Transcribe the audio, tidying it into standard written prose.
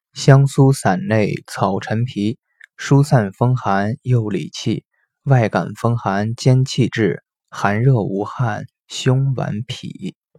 香苏散类草陈皮，疏散风寒又理气，外感风寒兼气滞，寒热无汗，胸脘痞。